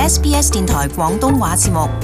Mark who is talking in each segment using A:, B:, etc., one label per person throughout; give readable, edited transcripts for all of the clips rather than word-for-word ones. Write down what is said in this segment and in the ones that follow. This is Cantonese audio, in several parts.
A: SBS 電台廣東話節目。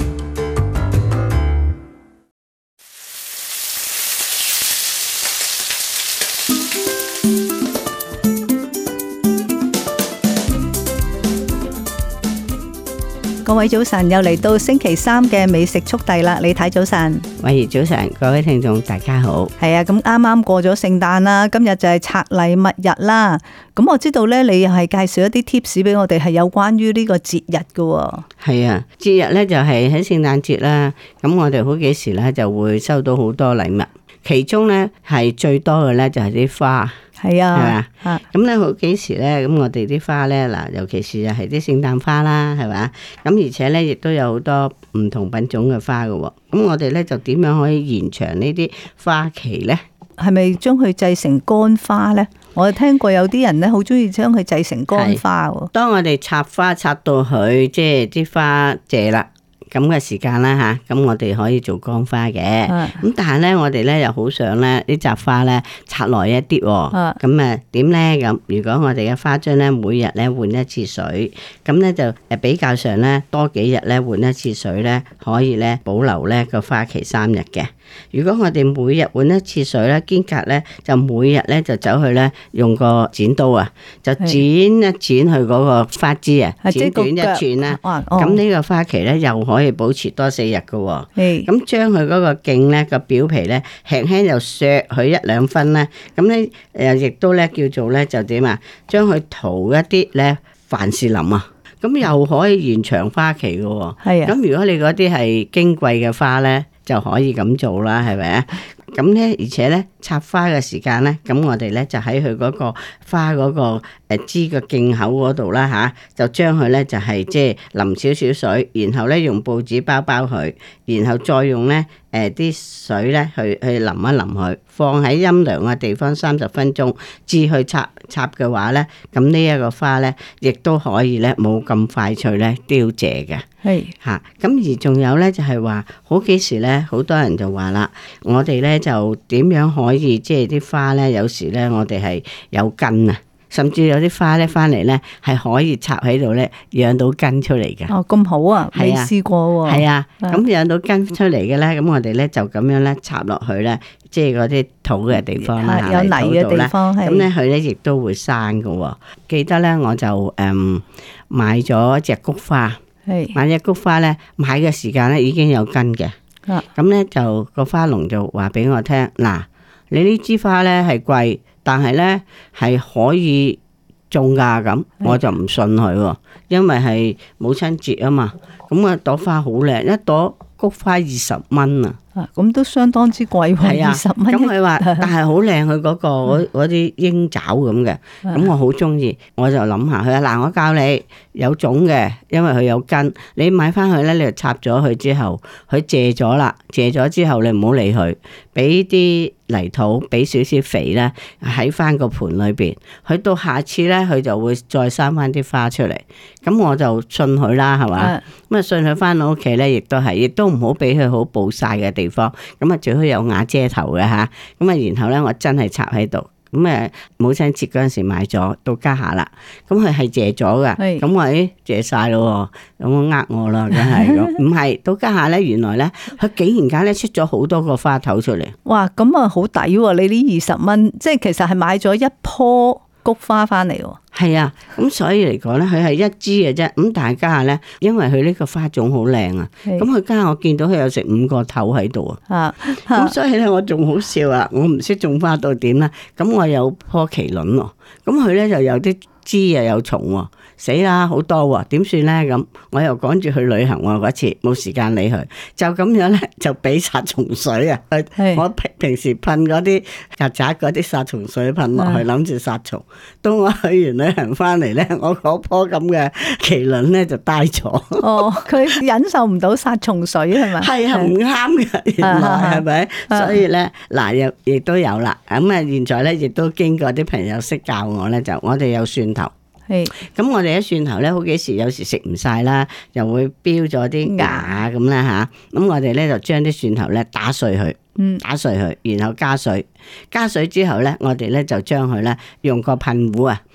B: 各位早晨，又嚟到星期三嘅美食速遞啦！李太早晨，
C: 慧怡早晨，各位聽眾大家好。
B: 係啊，咁啱啱過咗聖誕啦，今日就係拆禮物日啦。咁我知道咧，你又係介紹一啲 tips 俾我哋，係有關於呢個節日嘅。
C: 係啊，節日咧就係喺聖誕節啦。咁我哋好幾時咧就會收到好多禮物，其中咧係最多嘅咧就係啲花。
B: 係啊，
C: 係嘛？咁咧好幾時咧，咁我哋啲花咧嗱，尤其是係啲聖誕花啦，係嘛？咁而且咧亦都有好多唔同品種嘅花嘅喎。咁我哋咧就點樣可以延長呢啲花期咧？
B: 係咪將佢製成乾花咧？我聽過有啲人咧好中意將佢製成乾花喎。
C: 當我哋插花插到佢即係啲花謝啦。咁嘅時間啦吓，咁我哋可以做乾花嘅。咁但係咧，我哋咧又好想咧啲雜花咧插耐一啲。咁啊點咧？咁如果我哋嘅花樽咧每日咧換一次水，咁咧就比較上咧多幾日咧換一次水咧，可以咧保留咧個花期3日嘅。如果我哋每日換一次水咧，間隔咧就每日咧就走去咧用個剪刀啊，就剪一剪佢嗰個花枝啊，剪短一寸啦。咁呢個花期咧又可以保持多4日嘅。咁將佢嗰個莖咧個表皮咧輕輕又削佢1-2分咧，咁咧亦都咧叫做咧就點啊？將佢塗一啲咧凡士林啊，咁又可以延長花期嘅。咁如果你嗰啲係矜貴嘅花咧，就可以咁做啦，係咪啊？咁咧，而且咧插花嘅時間咧，咁我哋咧就喺佢嗰個花嗰個枝個莖口嗰度啦吓，就將佢咧就係即係淋少少水，然後咧用報紙包包佢，然後再用咧啲水咧去淋一淋佢，放喺陰涼嘅地方30分鐘，至去插嘅話咧，咁呢一個花咧亦都可以咧冇咁快脆咧凋謝嘅。係嚇，咁而仲有咧就係話，好幾時咧好多人就話啦，我哋咧就點樣可以即係啲花咧，有時咧我哋係有根啊，甚至有啲花咧翻嚟咧係可以插喺度咧養到根出嚟嘅。
B: 哦，咁好啊，未試過喎。係啊，
C: 咁養到根出嚟嘅咧，咁我哋咧就咁樣咧插落去咧，即係嗰啲土嘅地方啦，
B: 有泥嘅地方，
C: 咁咧佢咧亦都會生嘅。記得咧我就買咗隻菊花。買隻菊花咧，買嘅時間咧已經有根嘅，咁咧就個花農就話俾我聽，嗱，你呢支花咧係貴，但係咧係可以種噶，咁我就唔信佢，因為係母親節啊嘛，咁啊朵花好靚，一朵菊花20蚊啊！
B: 咁都相當之貴喎，20蚊。
C: 咁佢話，但係好靚，佢嗰個嗰啲鷹爪咁嘅，咁我好中意，我就諗下佢話嗱，我教你有種嘅，因為佢有根，你買翻去咧，你就插咗佢之後，佢謝咗啦，謝咗之後你唔好理佢，俾啲泥土，俾少少肥咧喺翻個盆裏邊，佢到下次咧佢就會再生翻啲花出嚟，咁我就信佢啦，係嘛？咁啊信佢翻到屋企咧，亦都係，亦都唔好俾佢好暴曬嘅地方，咁啊最好有瓦遮頭嘅吓，咁啊然後咧我真係插喺度，咁母親節嗰陣時買咗到家下啦，咁佢係謝咗嘅，咁我謝晒咯，咁我呃我啦，梗係咁，唔係到家下咧，原來咧佢竟然間咧出咗好多個花頭出嚟，
B: 哇，咁啊好抵喎！你呢20蚊，即係其實係買咗一棵菊花翻嚟喎。
C: 係啊，咁所以嚟講咧，佢係一支嘅啫。咁但係家下咧，因為佢呢個花種好靚啊，咁佢家下我見到佢有成5個頭喺度啊。咁所以咧，我仲好笑啊！我唔識種花到點啦。咁我有棵麒麟喎，咁佢咧就有啲枝又有蟲喎。死啦，好多喎，點算咧？咁我又趕住去旅行喎，嗰次冇時間理佢，就咁樣咧就俾殺蟲水啊！我平時噴嗰啲曱甴嗰啲殺蟲水噴落去，諗住殺蟲。到我去完旅行翻嚟咧，我嗰棵咁嘅麒麟咧就呆咗。
B: 哦，佢忍受唔到殺蟲水係咪？
C: 係啊，唔啱嘅，原來係咪？所以咧嗱，又亦都有啦。咁啊，現在咧亦都經過啲朋友識教我咧，就我哋有蒜頭。咁我哋一蒜頭咧，好幾時有時食唔晒啦，又會飆咗啲芽咁啦吓。咁我哋咧就將啲蒜頭咧打碎佢，打碎佢，然後加水之後咧，我哋咧就將佢咧用個噴壺啊，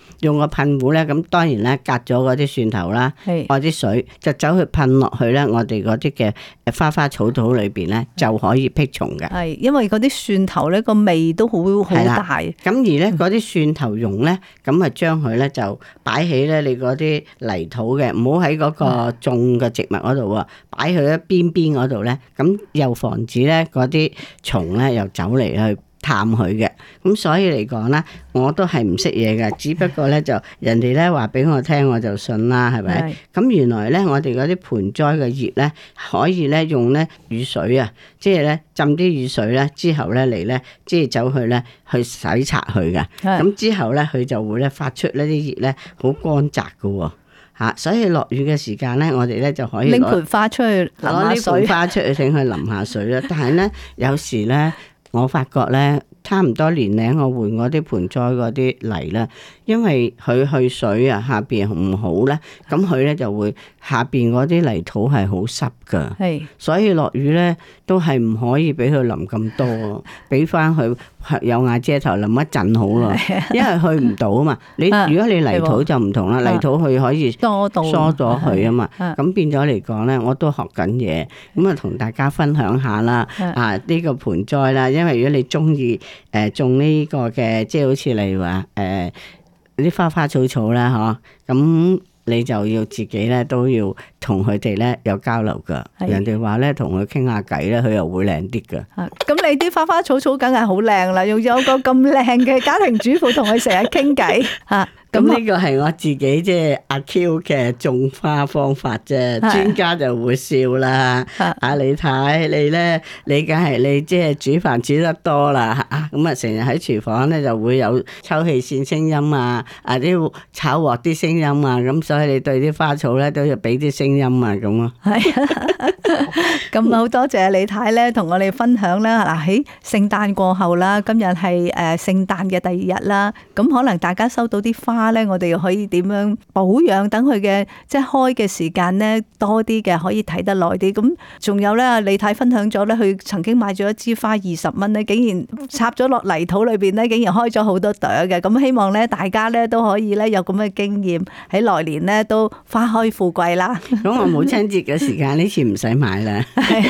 C: 用個噴壺咧，咁當然咧隔咗嗰啲蒜頭啦，或啲水就走去噴落去咧，我哋嗰啲嘅花花草草裏邊咧就可以辟蟲嘅。
B: 係，因為嗰啲蒜頭咧個味都好大。咁
C: 而咧嗰啲蒜頭蓉咧，咁啊將佢咧就擺喺咧你嗰啲泥土嘅，唔好喺嗰個種嘅植物嗰度喎，擺去一邊嗰度咧，咁又防止咧嗰啲蟲咧又走嚟去探佢嘅。咁所以嚟講咧，我都係唔識嘢嘅，只不過咧就人哋咧話俾我聽，我就信啦，係咪？咁原來咧我哋嗰啲盆栽嘅葉咧，可以咧用咧雨水啊，即係咧浸啲雨水咧之後咧嚟咧，即係走去咧去洗刷佢嘅。咁之後咧佢就會咧發出呢啲葉咧好乾澤嘅。吓，所以落雨嘅時間咧，我哋咧就可以
B: 拎盆花出去淋下水，
C: 攞呢盆花出去請佢淋下水啦。但係咧有時咧，我發覺咧，差唔多年齡我換嗰啲盆栽嗰啲泥啦，因為佢去水啊下邊唔好咧，咁佢咧就會下邊嗰啲泥土係好濕噶，所以落雨咧都係唔可以俾佢淋咁多，俾翻佢有瓦遮頭淋一陣好咯，因為去唔到啊嘛。你如果你泥土就唔同啦，泥土佢可以疏咗佢啊嘛，咁變咗嚟講咧，我都學緊嘢，咁啊同大家分享下啦。呢個盆栽啦，因為如果你中意種呢個嘅，即係好似例如話啲花花草草啦，嗬，咁你就要自己咧都要同佢哋咧有交流噶。人哋話咧同佢傾下偈咧，佢又會靚啲噶。
B: 咁你啲花花草草梗係好靚啦，用咗個咁靚嘅家庭主婦同佢成日傾偈吓。
C: 咁呢個係我自己即係阿 Q 嘅種花方法啫，專家就會笑啦。你睇你咧，你梗係你即係煮飯煮得多啦，咁啊成日喺廚房咧就會有抽氣扇聲音啊，啲炒鑊啲聲音啊，咁所以你對啲花草咧都要俾啲聲音啊，咁咯。咁
B: 好多謝李太咧，同我哋分享啦。嗱，喺聖誕過後啦，今日係聖誕嘅第二日啦，咁可能大家收到啲花咧，我哋可以點樣保養，等佢嘅即係開嘅時間咧多啲嘅，可以睇得耐啲。咁仲有咧，李太分享咗咧，佢曾經買咗一支花20蚊咧，竟然插咗落泥土裏邊咧，竟然開咗好多朵嘅。咁希望咧，大家咧都可以咧有咁嘅經驗，喺來年咧都花開富貴啦。
C: 咁我母親節嘅時間呢次唔使買啦。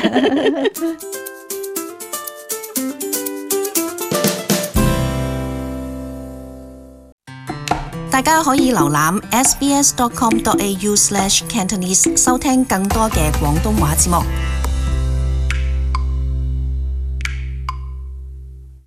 A: 大家可以瀏覽 sbs.com.au/cantonese 收聽更多嘅廣東話節目。